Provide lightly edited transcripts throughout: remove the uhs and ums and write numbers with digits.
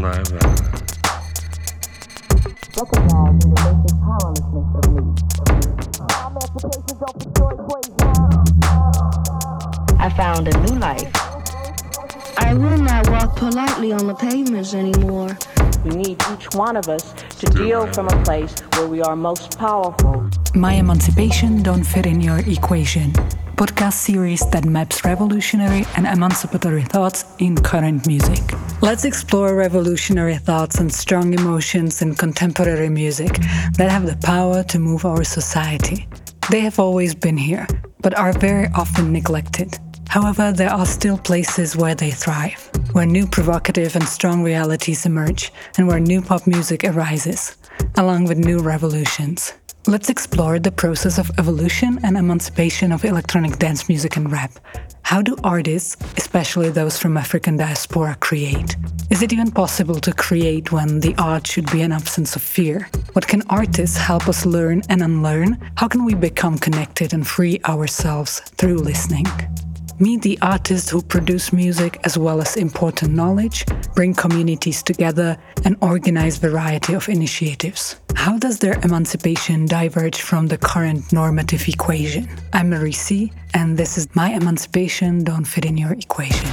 saliva. Recognizing the basic powerlessness of me. I found a new life. I will not walk politely on the pavements anymore. We need each one of us to deal from a place where we are most powerful. My Emancipation Don't Fit in Your Equation. Podcast series that maps revolutionary and emancipatory thoughts in current music. Let's explore revolutionary thoughts and strong emotions in contemporary music that have the power to move our society. They have always been here, but are very often neglected. However, there are still places where they thrive, where new provocative and strong realities emerge, and where new pop music arises, along with new revolutions. Let's explore the process of evolution and emancipation of electronic dance music and rap. How do artists, especially those from African diaspora, create? Is it even possible to create when the art should be an absence of fear? What can artists help us learn and unlearn? How can we become connected and free ourselves through listening? Meet the artists who produce music as well as important knowledge, bring communities together, and organize variety of initiatives. How does their emancipation diverge from the current normative equation? I'm Marie C, and this is My Emancipation Don't Fit in Your Equation.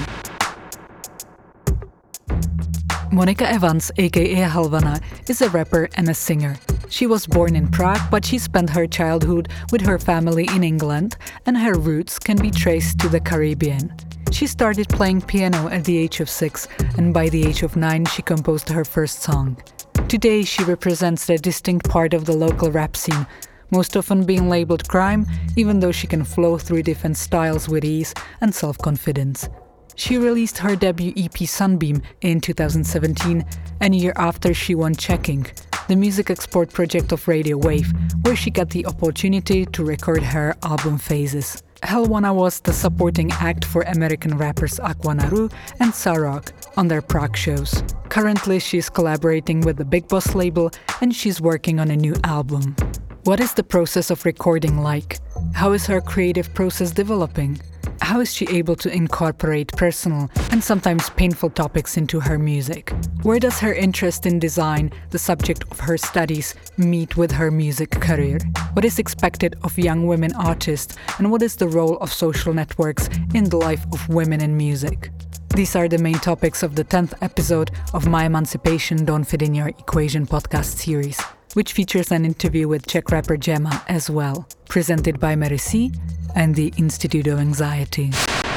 Monica Evans, aka Helvana, is a rapper and a singer. She was born in Prague, but she spent her childhood with her family in England, and her roots can be traced to the Caribbean. She started playing piano at the age of 6, and by the age of 9 she composed her first song. Today she represents a distinct part of the local rap scene, most often being labeled grime, even though she can flow through different styles with ease and self-confidence. She released her debut EP Sunbeam in 2017, and a year after she won Checking, the music export project of Radio Wave, where she got the opportunity to record her album Phases. Helvana was the supporting act for American rappers Aquanaru and Sarok on their Prague shows. Currently she's collaborating with the Big Boss label and she's working on a new album. What is the process of recording like? How is her creative process developing? How is she able to incorporate personal and sometimes painful topics into her music? Where does her interest in design, the subject of her studies, meet with her music career? What is expected of young women artists, and what is the role of social networks in the life of women in music? These are the main topics of the 10th episode of My Emancipation Don't Fit in Your Equation podcast series, which features an interview with Czech rapper Gemma as well, presented by Mary C and the Institute of Anxiety.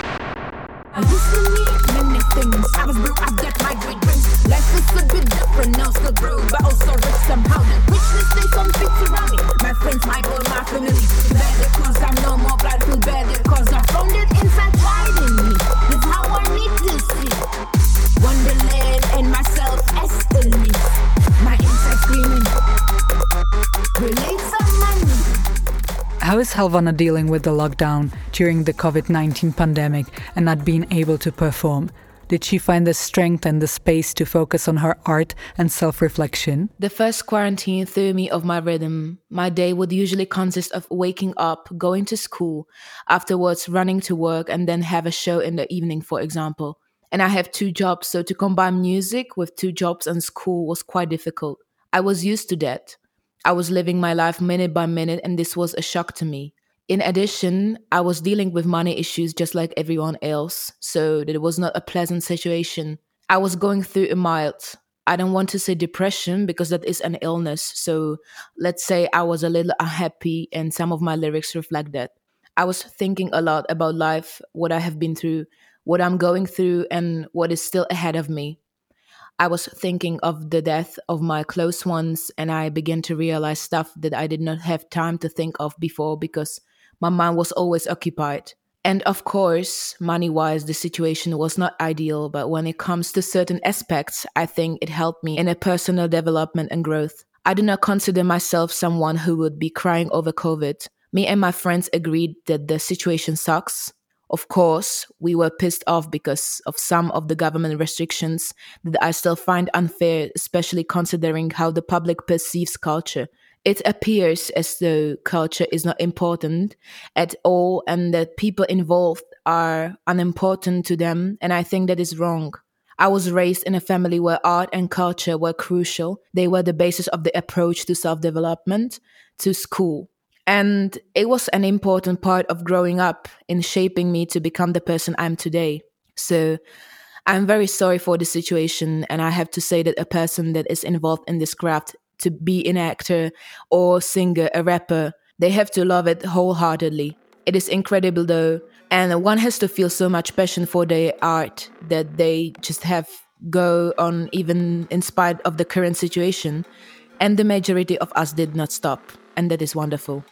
I used to need many things. I was broke, I got my great rings. Life is a bit different now, still broke, but also rich somehow. The richness stays on fits around me. My friends, my boy, my family. Better cause I'm no more blood, feel better cause I found it inside pride in me. It's how I need to see Wonderland and myself as elite. My inside screaming, release some money. How is Helvana dealing with the lockdown during the COVID-19 pandemic and not being able to perform? Did she find the strength and the space to focus on her art and self-reflection? The first quarantine threw me off my rhythm. My day would usually consist of waking up, going to school, afterwards running to work, and then have a show in the evening, for example. And I have 2 jobs, so to combine music with 2 jobs and school was quite difficult. I was used to that. I was living my life minute by minute, and this was a shock to me. In addition, I was dealing with money issues just like everyone else, so it was not a pleasant situation. I was going through a mild, I don't want to say depression because that is an illness, so let's say I was a little unhappy, and some of my lyrics reflect that. I was thinking a lot about life, what I have been through, what I'm going through, and what is still ahead of me. I was thinking of the death of my close ones, and I began to realize stuff that I did not have time to think of before because my mind was always occupied. And of course, money-wise, the situation was not ideal, but when it comes to certain aspects, I think it helped me in a personal development and growth. I do not consider myself someone who would be crying over COVID. Me and my friends agreed that the situation sucks. Of course, we were pissed off because of some of the government restrictions that I still find unfair, especially considering how the public perceives culture. It appears as though culture is not important at all and that people involved are unimportant to them, and I think that is wrong. I was raised in a family where art and culture were crucial. They were the basis of the approach to self-development, to school. And it was an important part of growing up in shaping me to become the person I'm today. So I'm very sorry for the situation, and I have to say that a person that is involved in this craft, to be an actor or singer, a rapper, they have to love it wholeheartedly. It is incredible though, and one has to feel so much passion for their art that they just have go on even in spite of the current situation. And the majority of us did not stop, and that is wonderful.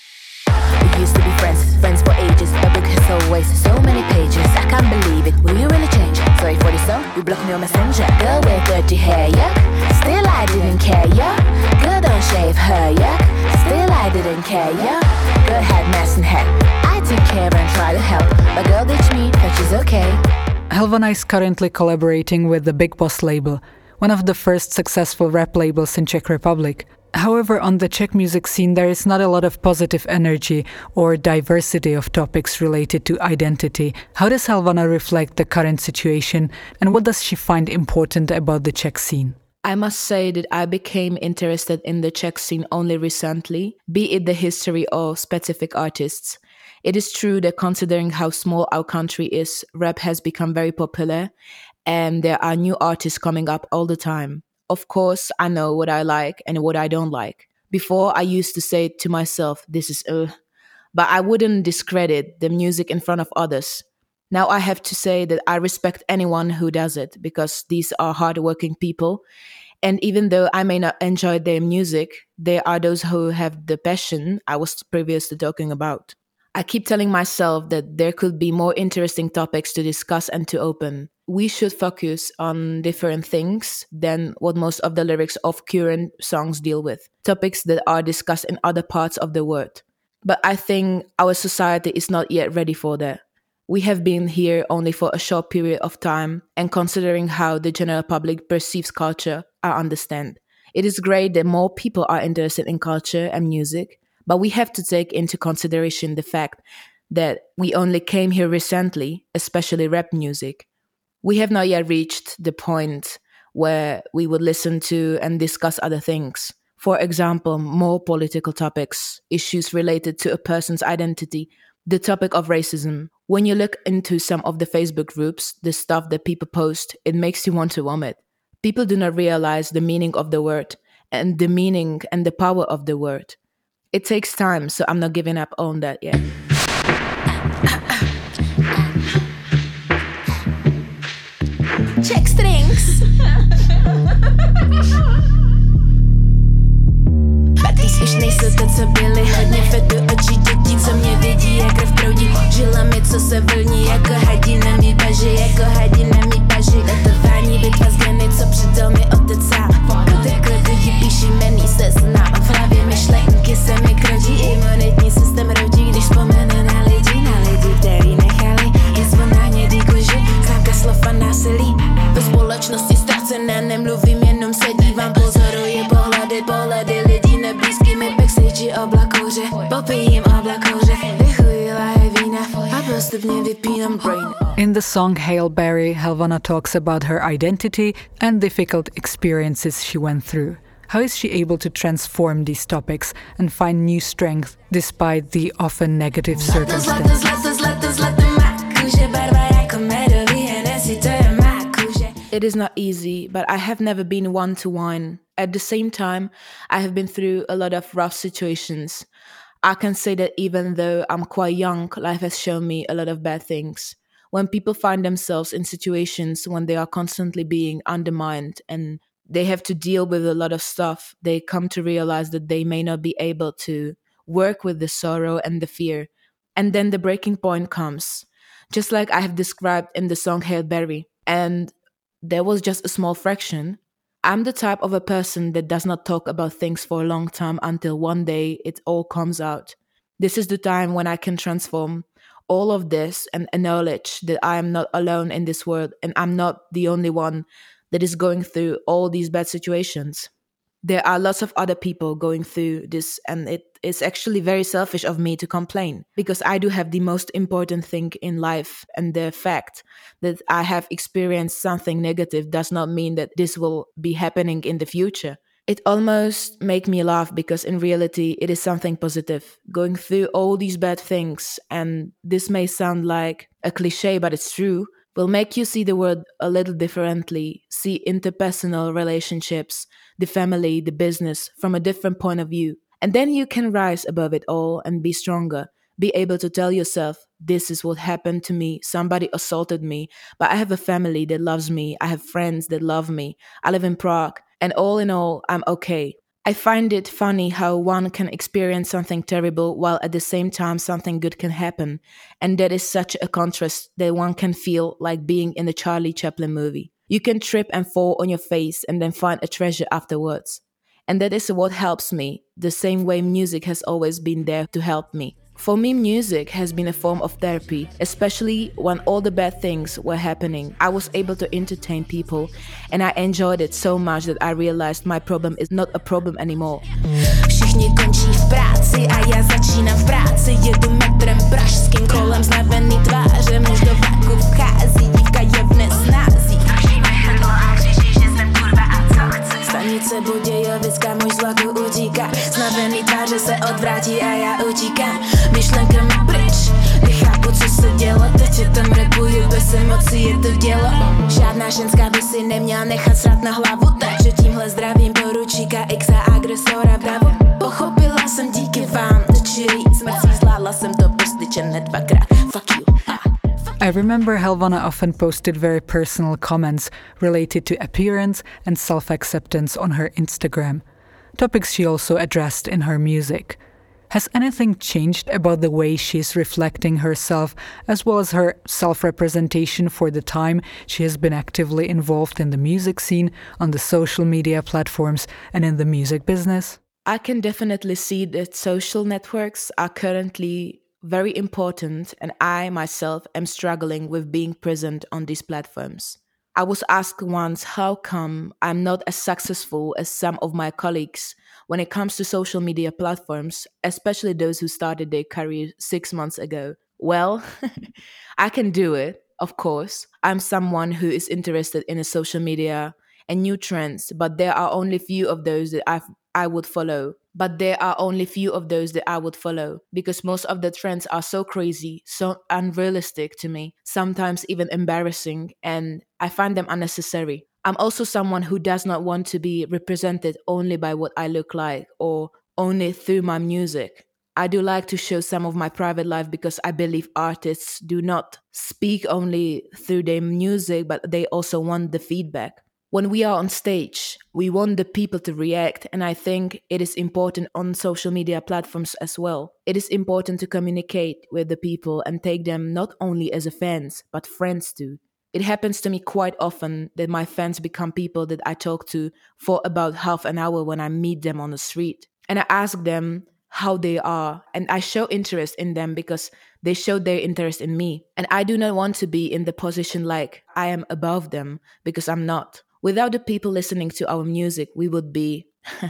We used to be friends for ages. The book has always so many pages. I can't believe it. Will you really change? Sorry for the song, you blocked me on Messenger. Girl with dirty hair, yuck. Still I didn't care, yuck. Girl don't shave her, yuck. Still I didn't care, yuck. Girl had mess and head. I took care and tried to help, but girl ditched me, but she's okay. Helvana is currently collaborating with the Big Boss label, one of the first successful rap labels in Czech Republic. However, on the Czech music scene, there is not a lot of positive energy or diversity of topics related to identity. How does Helvana reflect the current situation, and what does she find important about the Czech scene? I must say that I became interested in the Czech scene only recently, be it the history or specific artists. It is true that considering how small our country is, rap has become very popular, and there are new artists coming up all the time. Of course, I know what I like and what I don't like. Before, I used to say to myself, this is but I wouldn't discredit the music in front of others. Now I have to say that I respect anyone who does it, because these are hardworking people. And even though I may not enjoy their music, there are those who have the passion I was previously talking about. I keep telling myself that there could be more interesting topics to discuss and to open. We should focus on different things than what most of the lyrics of current songs deal with, topics that are discussed in other parts of the world. But I think our society is not yet ready for that. We have been here only for a short period of time, and considering how the general public perceives culture, I understand. It is great that more people are interested in culture and music, but we have to take into consideration the fact that we only came here recently, especially rap music. We have not yet reached the point where we would listen to and discuss other things. For example, more political topics, issues related to a person's identity, the topic of racism. When you look into some of the Facebook groups, the stuff that people post, it makes you want to vomit. People do not realize the meaning of the word and the meaning and the power of the word. It takes time, so I'm not giving up on that yet. Check strings. Patýs už nejsou to, co byly. Hodně fetu očí dětí, co mě vidí, jak krev proudí. Žilami, co se vlní, jako hadí na mý baži, jako hadí na mý baži. Datování, bitva z geny, co předal mi otec sám. Potekle lidi píší jmený seznam. V hlavě myšlenky se mi krodí, imunitní systém rodí, když vzpomenu na lidi, který nechali je zvon na hnědý koži, známka slov a násilí. Ve společnosti ztracené, nemluvím, jenom se dívám, pozoruji pohledy lidí neblízký mi backstage oblakouře, popijím oblakouře, vychuji láhe vína a postupně vypínám brain. In the song Hail Berry, Helvana talks about her identity and difficult experiences she went through. How is she able to transform these topics and find new strength despite the often negative circumstances? It is not easy, but I have never been one to whine. At the same time, I have been through a lot of rough situations. I can say that even though I'm quite young, life has shown me a lot of bad things. When people find themselves in situations when they are constantly being undermined and they have to deal with a lot of stuff, they come to realize that they may not be able to work with the sorrow and the fear. And then the breaking point comes, just like I have described in the song Hail Berry. And there was just a small fraction. I'm the type of a person that does not talk about things for a long time until one day it all comes out. This is the time when I can transform all of this and acknowledge that I am not alone in this world and I'm not the only one that is going through all these bad situations. There are lots of other people going through this, and it is actually very selfish of me to complain because I do have the most important thing in life, and the fact that I have experienced something negative does not mean that this will be happening in the future. It almost make me laugh because in reality it is something positive. Going through all these bad things, and this may sound like a cliche, but it's true, will make you see the world a little differently, see interpersonal relationships, the family, the business from a different point of view. And then you can rise above it all and be stronger, be able to tell yourself, this is what happened to me. Somebody assaulted me, but I have a family that loves me. I have friends that love me. I live in Prague, and all in all, I'm okay. I find it funny how one can experience something terrible while at the same time something good can happen. And that is such a contrast that one can feel like being in a Charlie Chaplin movie. You can trip and fall on your face and then find a treasure afterwards. And that is what helps me, the same way music has always been there to help me. For me, music has been a form of therapy, especially when all the bad things were happening. I was able to entertain people, and I enjoyed it so much that I realized my problem is not a problem anymore. Všichni končí v práci a já začínám v práci. Jedu metrem pražským kolem znavený tváře. Muž do vlaku vchází, dívka je v nesnází. Držíme hrdlo a křičí, že jsem kurva a co chci. Stanice Budějovická, muž z vlaku utíká. Znavený tváře se odvrátí a já utíkám. Myšlenka mi pryč, nechápu, co se dělo. Teď je tam repuju, bez emocí je to dělo. Žádná ženská by si neměla nechat srát na hlavu, takže tímhle zdravím poručíka X a agresora v davu. Pochopila jsem díky vám, čili smrcí zvládla jsem to postyčené dvakrát. Fuck you. I remember Helvana often posted very personal comments related to appearance and self-acceptance on her Instagram, topics she also addressed in her music. Has anything changed about the way she's reflecting herself as well as her self-representation for the time she has been actively involved in the music scene, on the social media platforms, and in the music business? I can definitely see that social networks are currently very important, and I myself am struggling with being present on these platforms. I was asked once how come I'm not as successful as some of my colleagues when it comes to social media platforms, especially those who started their career 6 months ago. Well, I can do it, of course. I'm someone who is interested in a social media and new trends, but there are only few of those that I would follow. Because most of the trends are so crazy, so unrealistic to me, sometimes even embarrassing, and I find them unnecessary. I'm also someone who does not want to be represented only by what I look like or only through my music. I do like to show some of my private life because I believe artists do not speak only through their music, but they also want the feedback. When we are on stage, we want the people to react, and I think it is important on social media platforms as well. It is important to communicate with the people and take them not only as a fans, but friends too. It happens to me quite often that my fans become people that I talk to for about half an hour when I meet them on the street. And I ask them how they are, and I show interest in them because they show their interest in me. And I do not want to be in the position like I am above them, because I'm not. Without the people listening to our music, we would be,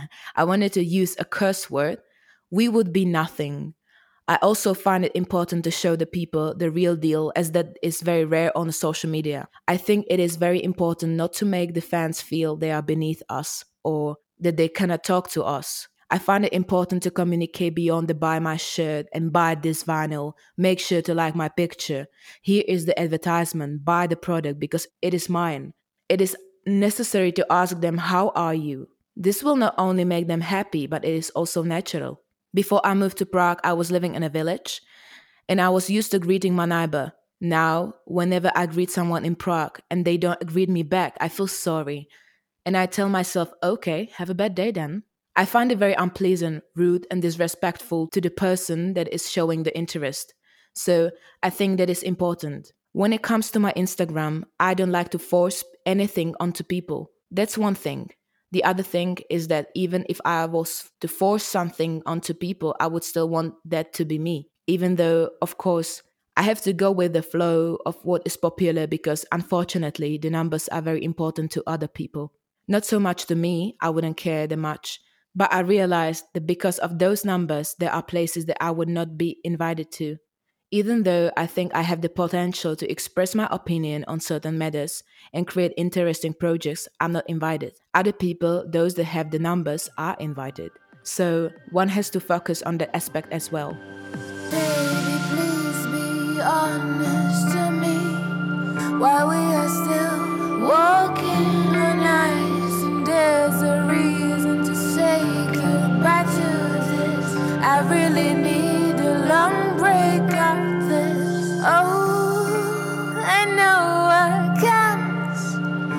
I wanted to use a curse word, we would be nothing. I also find it important to show the people the real deal, as that is very rare on social media. I think it is very important not to make the fans feel they are beneath us or that they cannot talk to us. I find it important to communicate beyond the buy my shirt and buy this vinyl, make sure to like my picture. Here is the advertisement, buy the product because it is mine. It is necessary to ask them, how are you? This will not only make them happy, but it is also natural. Before I moved to Prague, I was living in a village and I was used to greeting my neighbor. Now, whenever I greet someone in Prague and they don't greet me back, I feel sorry. And I tell myself, okay, have a bad day then. I find it very unpleasant, rude and disrespectful to the person that is showing the interest. So I think that is important. When it comes to my Instagram, I don't like to force anything onto people. That's one thing. The other thing is that even if I was to force something onto people, I would still want that to be me. Even though, of course, I have to go with the flow of what is popular because unfortunately, the numbers are very important to other people. Not so much to me, I wouldn't care that much. But I realized that because of those numbers, there are places that I would not be invited to. Even though I think I have the potential to express my opinion on certain matters and create interesting projects, I'm not invited. Other people, those that have the numbers, are invited. So one has to focus on that aspect as well. Baby, please be honest to me. While we are still walking on ice, and there's a reason to say goodbye to this. I really need a long break of this. Oh, I know what comes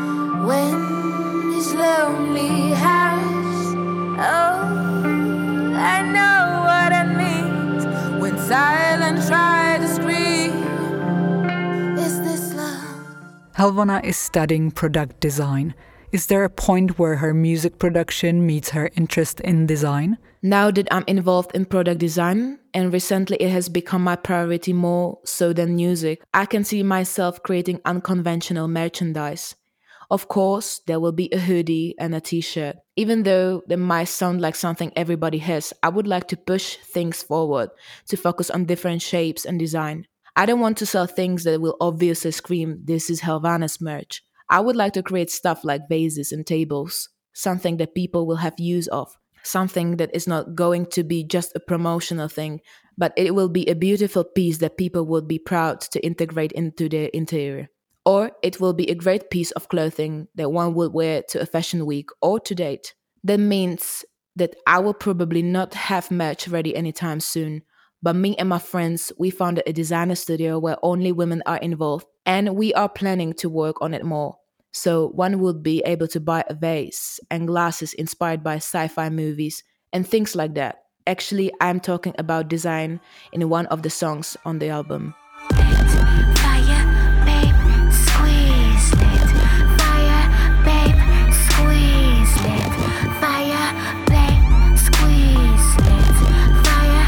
when this lonely house. Oh, I know what it means when silence tries to scream. Is this love? Helvana is studying product design. Is there a point where her music production meets her interest in design? Now that I'm involved in product design, and recently it has become my priority more so than music, I can see myself creating unconventional merchandise. Of course, there will be a hoodie and a t-shirt. Even though they might sound like something everybody has, I would like to push things forward to focus on different shapes and design. I don't want to sell things that will obviously scream, "This is Helvana's merch." I would like to create stuff like vases and tables, something that people will have use of, something that is not going to be just a promotional thing, but it will be a beautiful piece that people would be proud to integrate into their interior. Or it will be a great piece of clothing that one would wear to a fashion week or to date. That means that I will probably not have merch ready anytime soon. But me and my friends, we founded a designer studio where only women are involved, and we are planning to work on it more. So one would be able to buy a vase and glasses inspired by sci-fi movies and things like that. Actually, I'm talking about design in one of the songs on the album. Fire, babe, squeeze it. Fire, babe, squeeze it. Fire, babe, squeeze it. Fire,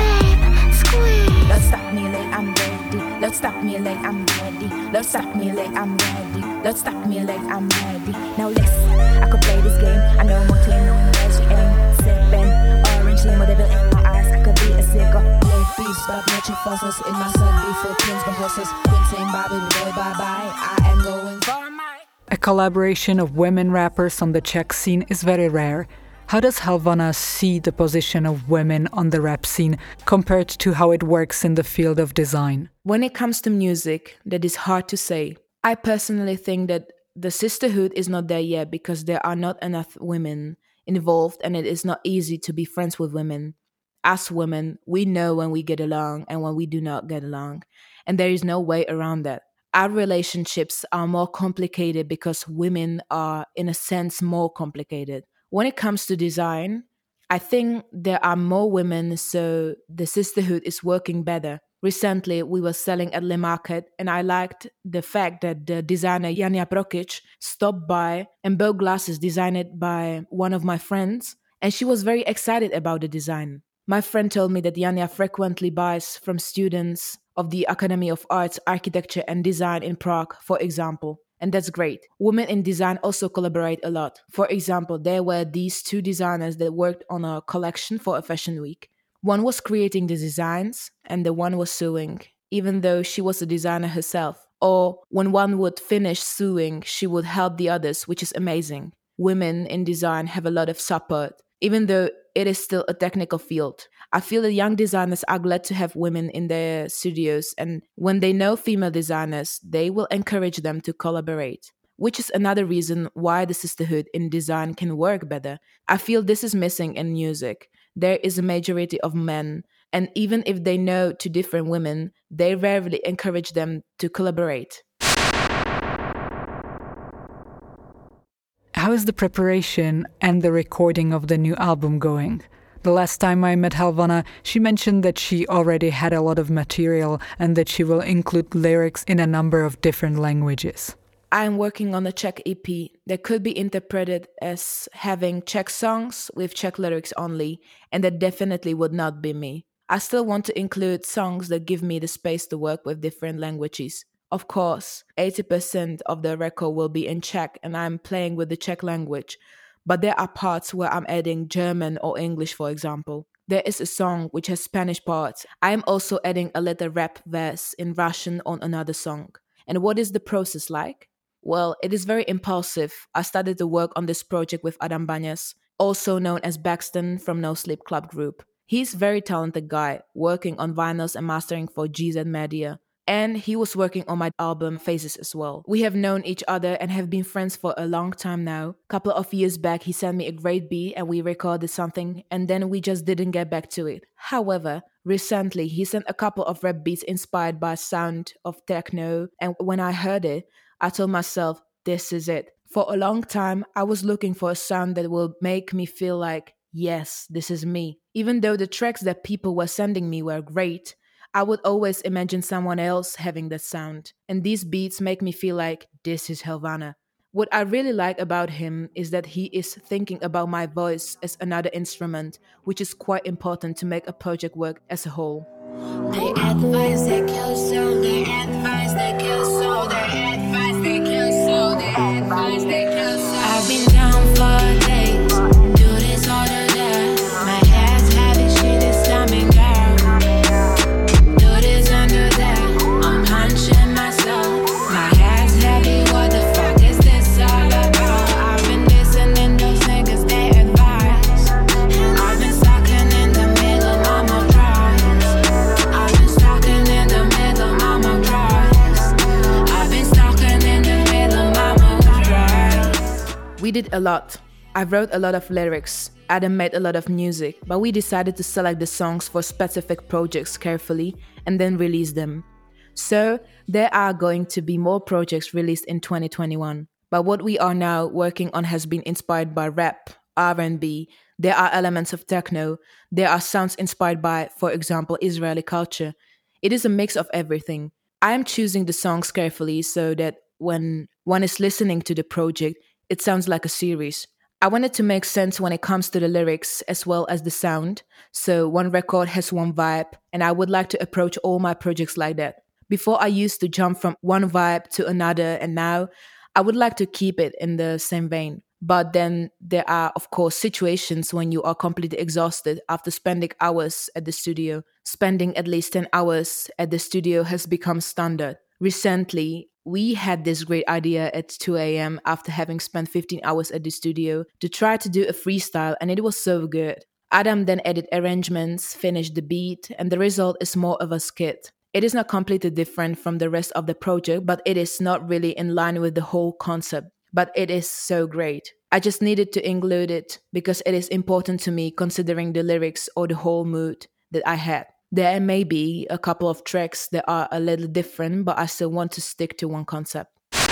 babe, squeeze. Don't stop me like I'm ready. Don't stop me like I'm ready. Don't stop me like I'm ready. Don't stop me like I'm ready. Now listen, I could play this game. I know more clean, no one else you ain't sipping. Orange limo, devil in my eyes. I could be a sicko. Live beef, stop natural fossils in my sun. Before pins, but horses. Quintain, Bobby, boy, bye bye. I am going for my. A collaboration of women rappers on the Czech scene is very rare. How does Helvana see the position of women on the rap scene compared to how it works in the field of design? When it comes to music, that is hard to say. I personally think that the sisterhood is not there yet because there are not enough women involved and it is not easy to be friends with women. As women, we know when we get along and when we do not get along, and there is no way around that. Our relationships are more complicated because women are, in a sense, more complicated. When it comes to design, I think there are more women, so the sisterhood is working better. Recently, we were selling at Le Market, and I liked the fact that the designer Janja Prokic stopped by and bought glasses designed by one of my friends, and she was very excited about the design. My friend told me that Janja frequently buys from students of the Academy of Arts, Architecture and Design in Prague, for example. And that's great. Women in design also collaborate a lot. For example, there were these two designers that worked on a collection for a fashion week. One was creating the designs and the one was sewing, even though she was a designer herself. Or when one would finish sewing, she would help the others, which is amazing. Women in design have a lot of support, even though it is still a technical field. I feel that young designers are glad to have women in their studios, and when they know female designers, they will encourage them to collaborate, which is another reason why the sisterhood in design can work better. I feel this is missing in music. There is a majority of men, and even if they know two different women, they rarely encourage them to collaborate. How is the preparation and the recording of the new album going? The last time I met Helvana, she mentioned that she already had a lot of material and that she will include lyrics in a number of different languages. I'm working on a Czech EP that could be interpreted as having Czech songs with Czech lyrics only, and that definitely would not be me. I still want to include songs that give me the space to work with different languages. Of course, 80% of the record will be in Czech and I'm playing with the Czech language, but there are parts where I'm adding German or English, for example. There is a song which has Spanish parts. I am also adding a little rap verse in Russian on another song. And what is the process like? Well, it is very impulsive. I started to work on this project with Adam Banyas, also known as Baxton from No Sleep Club Group. He's a very talented guy, working on vinyls and mastering for GZ Media. And he was working on my album Phases as well. We have known each other and have been friends for a long time now. A couple of years back, he sent me a great beat and we recorded something, and then we just didn't get back to it. However, recently, he sent a couple of rap beats inspired by sound of techno, and when I heard it, I told myself, this is it. For a long time, I was looking for a sound that will make me feel like, yes, this is me. Even though the tracks that people were sending me were great, I would always imagine someone else having that sound. And these beats make me feel like, this is Helvana. What I really like about him is that he is thinking about my voice as another instrument, which is quite important to make a project work as a whole. They advise that kill soul, they advise that kill soul, they advise that kill soul, they advise that kill soul. I've been down for days, do this or do that. My ass habit, shit is coming down. I'm punching myself. My hands heavy, what the fuck is this all about? I've been listening to those niggas, they advise. I've been stalking in the middle, mama cries. I've been stalking in the middle, mama cries. I've been stalking in the middle, mama cries. We did a lot. I wrote a lot of lyrics. Adam made a lot of music, but we decided to select the songs for specific projects carefully and then release them. So, there are going to be more projects released in 2021. But what we are now working on has been inspired by rap, R&B, there are elements of techno, there are sounds inspired by, for example, Israeli culture. It is a mix of everything. I am choosing the songs carefully so that when one is listening to the project, it sounds like a series. I wanted to make sense when it comes to the lyrics as well as the sound, so one record has one vibe, and I would like to approach all my projects like that. Before I used to jump from one vibe to another, and now I would like to keep it in the same vein. But then there are, of course, situations when you are completely exhausted after spending hours at the studio. Spending at least 10 hours at the studio has become standard. Recently, we had this great idea at 2 a.m. after having spent 15 hours at the studio to try to do a freestyle, and it was so good. Adam then added arrangements, finished the beat, and the result is more of a skit. It is not completely different from the rest of the project, but it is not really in line with the whole concept. But it is so great. I just needed to include it because it is important to me considering the lyrics or the whole mood that I had. There may be a couple of tracks that are a little different, but I still want to stick to one concept.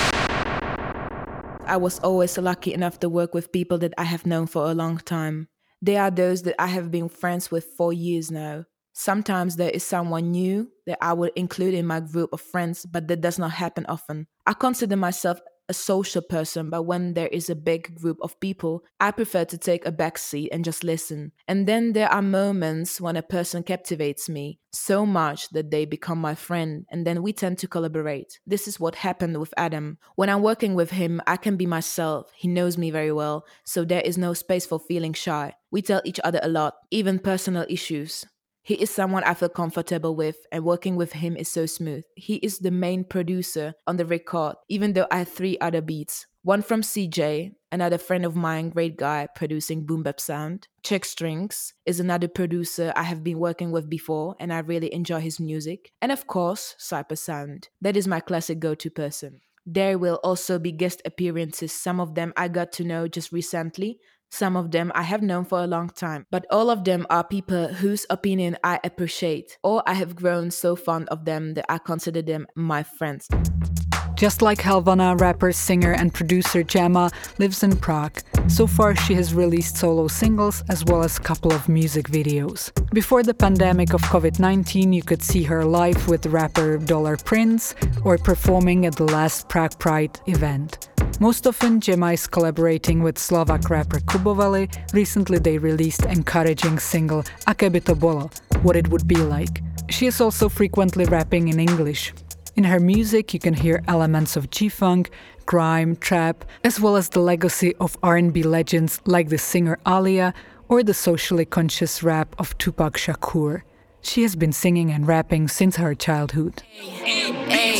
I was always lucky enough to work with people that I have known for a long time. They are those that I have been friends with for years now. Sometimes there is someone new that I would include in my group of friends, but that does not happen often. I consider myself a social person, but when there is a big group of people, I prefer to take a back seat and just listen. And then there are moments when a person captivates me so much that they become my friend, and then we tend to collaborate. This is what happened with Adam. When I'm working with him, I can be myself. He knows me very well, so there is no space for feeling shy. We tell each other a lot, even personal issues. He is someone I feel comfortable with, and working with him is so smooth. He is the main producer on the record, even though I have 3 other beats. One from CJ, another friend of mine, great guy, producing boom bap sound. Check Strings is another producer I have been working with before, and I really enjoy his music. And of course, Cypress Sound. That is my classic go-to person. There will also be guest appearances. Some of them I got to know just recently. Some of them I have known for a long time, but all of them are people whose opinion I appreciate, or I have grown so fond of them that I consider them my friends. Just like Helvana, rapper, singer and producer Gemma lives in Prague. So far she has released solo singles as well as a couple of music videos. Before the pandemic of COVID-19, you could see her live with rapper Dollar Prince or performing at the last Prague Pride event. Most often, Gemma is collaborating with Slovak rapper Kuboveli. Recently they released encouraging single Aké by to bolo, what it would be like. She is also frequently rapping in English. In her music, you can hear elements of G-funk, grime, trap, as well as the legacy of R&B legends like the singer Aaliyah or the socially conscious rap of Tupac Shakur. She has been singing and rapping since her childhood. Hey,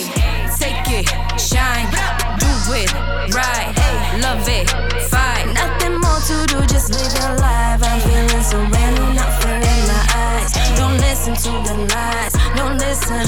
take it, shine, do it, right, love it, fight. Nothing more to do, just live your life. I'm feeling so random, not fair in my eyes. Don't listen to the lies, don't listen,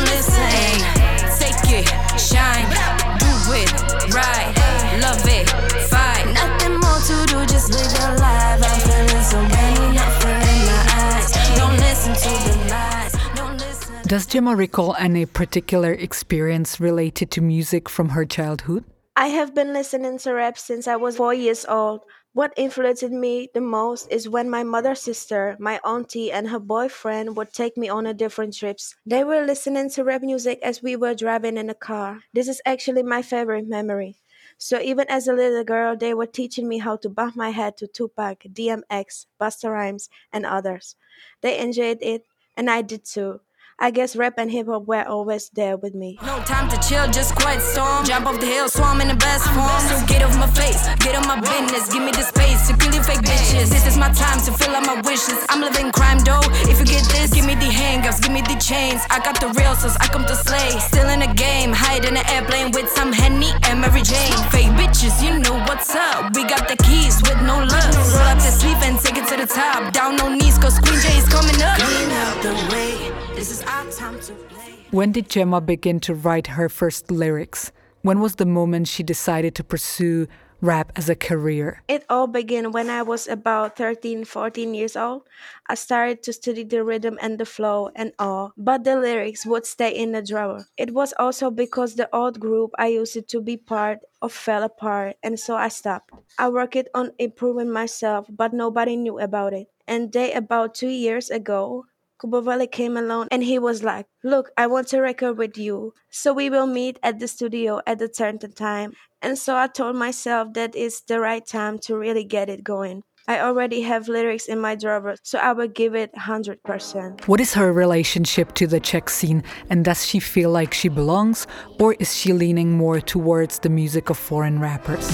hey. Take it, shine, do it, right, love it, fight. Nothing more to do, just live your life. I'm feeling so random, not fair in my eyes. Don't listen to the lies, don't listen. Does Gemma recall any particular experience related to music from her childhood? I have been listening to rap since I was 4 years old. What influenced me the most is when my mother's sister, my auntie, and her boyfriend would take me on a different trips. They were listening to rap music as we were driving in a car. This is actually my favorite memory. So even as a little girl, they were teaching me how to bump my head to Tupac, DMX, Busta Rhymes, and others. They enjoyed it, and I did too. I guess rap and hip-hop were always there with me. No time to chill, just quiet storm. Jump off the hill, swam in the best form. So get off my face, get on my business. Give me the space to kill you fake bitches. This is my time to fill out my wishes. I'm living crime though, if you get this, give me the handcuffs, give me the chains. I got the real sauce, I come to slay. Still in the game, hide in an airplane with some Henny and Mary Jane. Fake bitches, you know what's up. We got the keys with no love. Roll up the sleeve and take it to the top. Down on knees, cause Queen J is coming up. Clean out the way. This is our time to play. When did Gemma begin to write her first lyrics? When was the moment she decided to pursue rap as a career? It all began when I was about 13, 14 years old. I started to study the rhythm and the flow and all, but the lyrics would stay in the drawer. It was also because the old group I used to be part of fell apart, and so I stopped. I worked on improving myself, but nobody knew about it. And then about 2 years ago, Kubovale came along and he was like, look, I want to record with you. So we will meet at the studio at a certain time. And so I told myself that it's the right time to really get it going. I already have lyrics in my drawer, so I will give it 100%. What is her relationship to the Czech scene, and does she feel like she belongs, or is she leaning more towards the music of foreign rappers?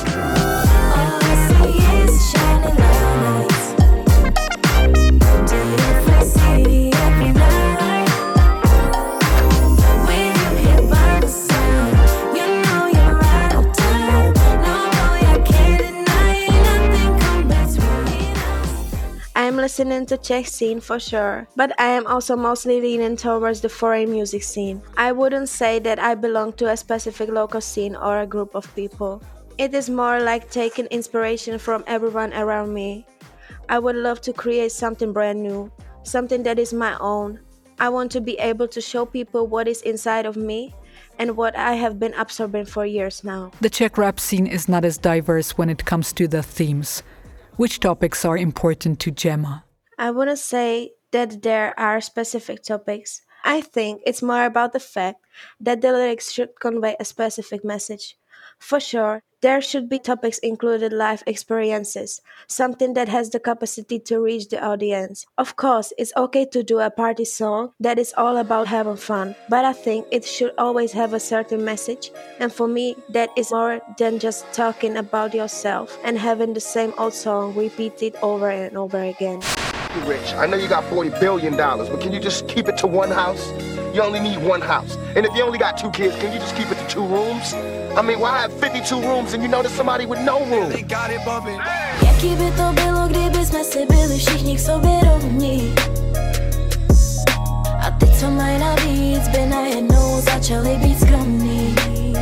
All I see is shining lights. Do you fancy every night? When you hear by the sound, you know you're right on time. No boy, I can't deny nothing come between us. I am listening to Czech scene for sure, but I am also mostly leaning towards the foreign music scene. I wouldn't say that I belong to a specific local scene or a group of people. It is more like taking inspiration from everyone around me. I would love to create something brand new, something that is my own. I want to be able to show people what is inside of me and what I have been absorbing for years now. The Czech rap scene is not as diverse when it comes to the themes. Which topics are important to Gemma? I wouldn't say that there are specific topics. I think it's more about the fact that the lyrics should convey a specific message. For sure, there should be topics included life experiences, something that has the capacity to reach the audience. Of course, it's okay to do a party song that is all about having fun, but I think it should always have a certain message, and for me, that is more than just talking about yourself and having the same old song repeated over and over again. You're rich. I know you got $40 billion, but can you just keep it to one house? You only need one house. And if you only got 2 kids, can you just keep it to 2 rooms? I mean, why have 52 rooms and you know there's somebody with no room? They got it bumping. Jaký by to bylo, kdyby jsme si byli všichni k sobě rovní? A ty, co mají navíc, by najednou začali být skromní.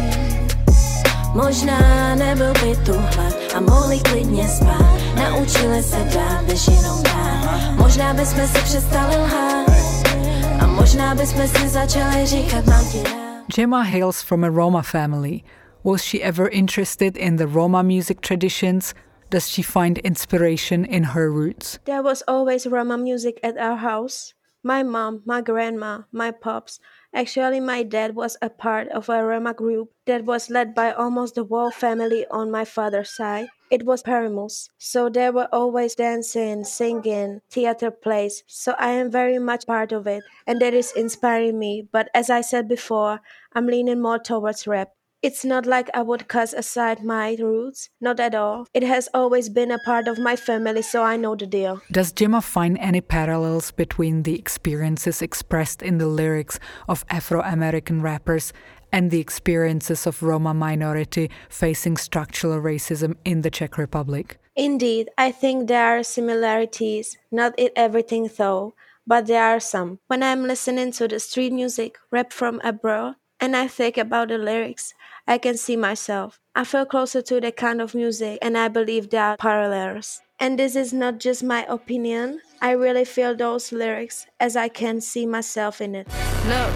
Možná nebyl by tu hlad a mohli klidně spát. Naučili se dát, než jenom dát. Možná bychom si přestali lhát a možná bychom si začali říkat, mám ti rád. Gemma hails from a Roma family. Was she ever interested in the Roma music traditions? Does she find inspiration in her roots? There was always Roma music at our house. My mom, my grandma, my pops, Actually, my dad was a part of a Roma group that was led by almost the whole family on my father's side. It was Perimus. So there were always dancing, singing, theater plays. So I am very much part of it. And that is inspiring me. But as I said before, I'm leaning more towards rap. It's not like I would cast aside my roots, not at all. It has always been a part of my family, so I know the deal. Does Gemma find any parallels between the experiences expressed in the lyrics of Afro-American rappers and the experiences of Roma minority facing structural racism in the Czech Republic? Indeed, I think there are similarities, not in everything though, but there are some. When I'm listening to the street music, rap from abroad, and I think about the lyrics, I can see myself. I feel closer to that kind of music, and I believe there are parallels. And this is not just my opinion. I really feel those lyrics as I can see myself in it. Look,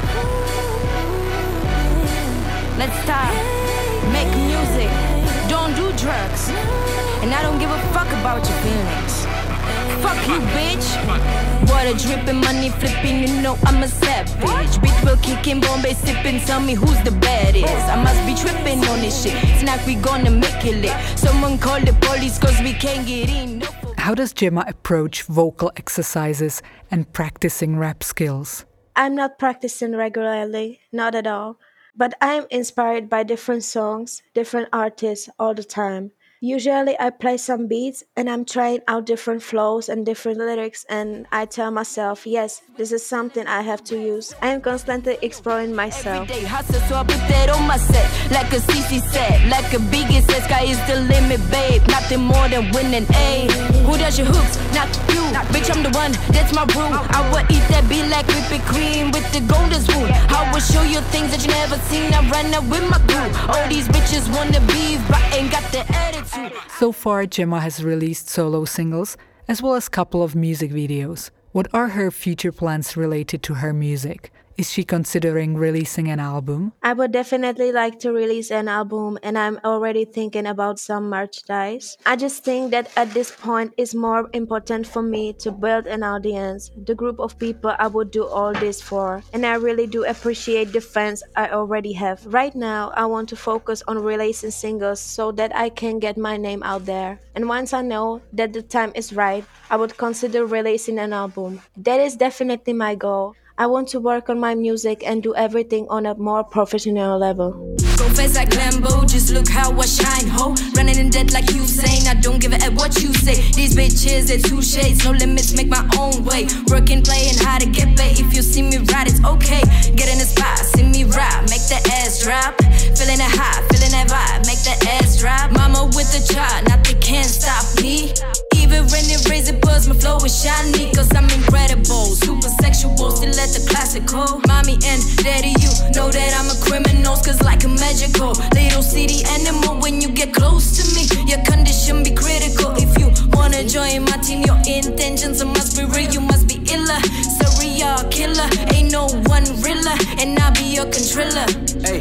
let's start. Make music. Don't do drugs. And I don't give a fuck about your feelings. Fuck you, bitch. Water dripping, money flipping, you know I'm a savage. Bitch will kicking, Bombay sipping, tell me who's the baddest. I must be tripping on this shit. Snack, we gonna make it lit. Someone call the police cause we can't get in. How does Gemma approach vocal exercises and practicing rap skills? I'm not practicing regularly, not at all. But I'm inspired by different songs, different artists all the time. Usually I play some beats and I'm trying out different flows and different lyrics, and I tell myself, yes, this is something I have to use. I am constantly exploring myself. Every day hustle, so I put that on my set. Like a CC said, like a Biggie said, sky is the limit, babe. Nothing more than winning, ayy. Who does your hooks? Not you. Bitch, I'm the one, that's my rule. I will eat that beat like whipping cream with the golden spoon. I will show you things that you never seen. I run up with my crew. All these bitches wanna beef, but ain't got the attitude. So far, Gemma has released solo singles as well as a couple of music videos. What are her future plans related to her music? Is she considering releasing an album? I would definitely like to release an album, and I'm already thinking about some merchandise. I just think that at this point it's more important for me to build an audience, the group of people I would do all this for. And I really do appreciate the fans I already have. Right now, I want to focus on releasing singles so that I can get my name out there. And once I know that the time is right, I would consider releasing an album. That is definitely my goal. I want to work on my music and do everything on a more professional level. Go fast like Lambo, just look how I shine, ho. Running in debt like Usain, I don't give a F what you say. These bitches, they're two shades, no limits, make my own way. Working, playing hard to get paid. If you see me ride, it's okay. Get in the spot, see me ride, make the ass drop. Feeling it hot, feeling that vibe, make the ass drop. Mama with the child, nothing can stop me. Even when it raises buzz, my flow is shiny, cause I'm incredible. Super sexual, still at the classical. Mommy and daddy, you know that I'm a criminal, cause like a magical little city animal. When you get close to me, your condition be critical. If you wanna join my team, your intentions must be real, you must be iller. Serial killer, ain't no one realer, and I'll be your controller. Hey.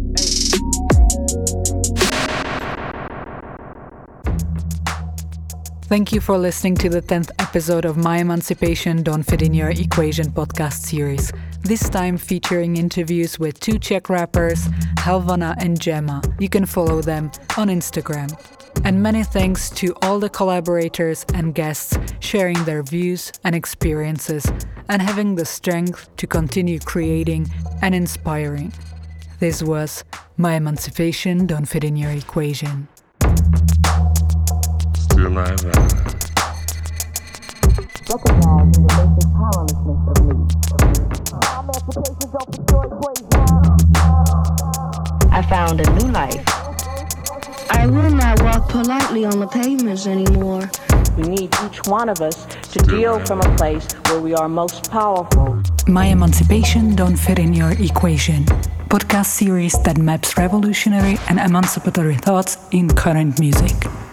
Thank you for listening to the 10th episode of My Emancipation Don't Fit in Your Equation podcast series, this time featuring interviews with two Czech rappers, Helvana and Gemma. You can follow them on Instagram. And many thanks to all the collaborators and guests sharing their views and experiences and having the strength to continue creating and inspiring. This was My Emancipation Don't Fit in Your Equation. Recognize the basic powerlessness of me. I found a new life. I will not walk politely on the pavements anymore. We need each one of us to deal from a place where we are most powerful. My Emancipation Don't Fit in Your Equation, podcast series that maps revolutionary and emancipatory thoughts in current music.